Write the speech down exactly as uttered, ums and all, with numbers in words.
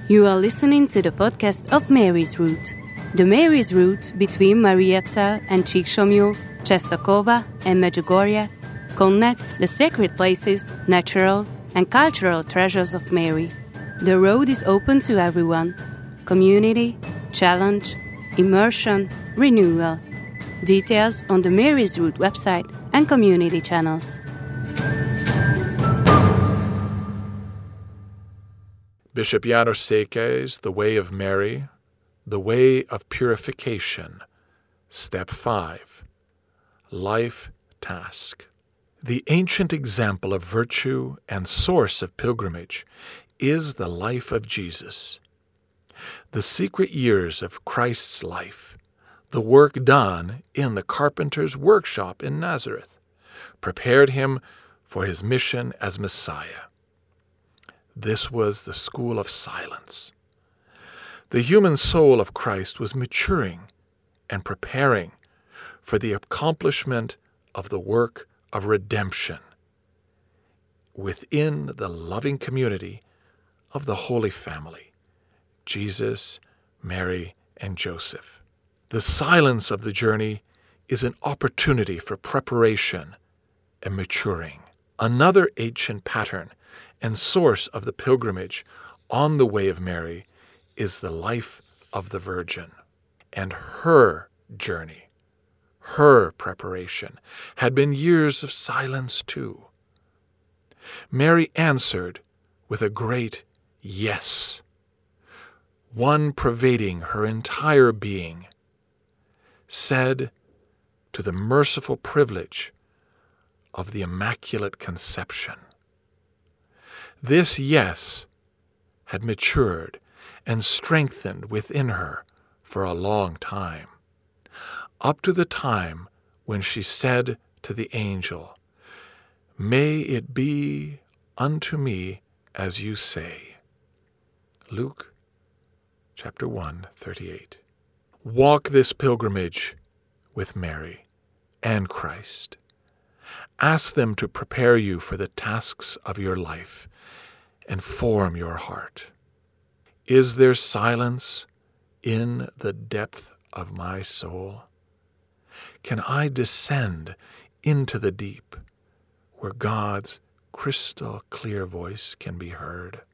You are listening to the podcast of Mary's Route. The Mary's Route between Mariazell and Csíksomlyó, Czestochowa and Medjugorje connects the sacred places, natural and cultural treasures of Mary. The road is open to everyone. Community, challenge, immersion, renewal. Details on the Mary's Route website and community channels. Bishop János Székely's The Way of Mary, The Way of Purification. Step five. Life Task. The ancient example of virtue and source of pilgrimage is the life of Jesus. The secret years of Christ's life, the work done in the carpenter's workshop in Nazareth, prepared him for his mission as Messiah. This was the school of silence. The human soul of Christ was maturing and preparing for the accomplishment of the work of redemption within the loving community of the Holy Family, Jesus, Mary, and Joseph. The silence of the journey is an opportunity for preparation and maturing. Another ancient pattern and source of the pilgrimage on the Way of Mary is the life of the Virgin. And her journey, her preparation, had been years of silence too. Mary answered with a great yes, one pervading her entire being, said to the merciful privilege of the Immaculate Conception. This yes had matured and strengthened within her for a long time, up to the time when she said to the angel, "May it be unto me as you say." Luke chapter one, thirty-eight. Walk this pilgrimage with Mary and Christ. Ask them to prepare you for the tasks of your life and form your heart. Is there silence in the depth of my soul? Can I descend into the deep where God's crystal clear voice can be heard?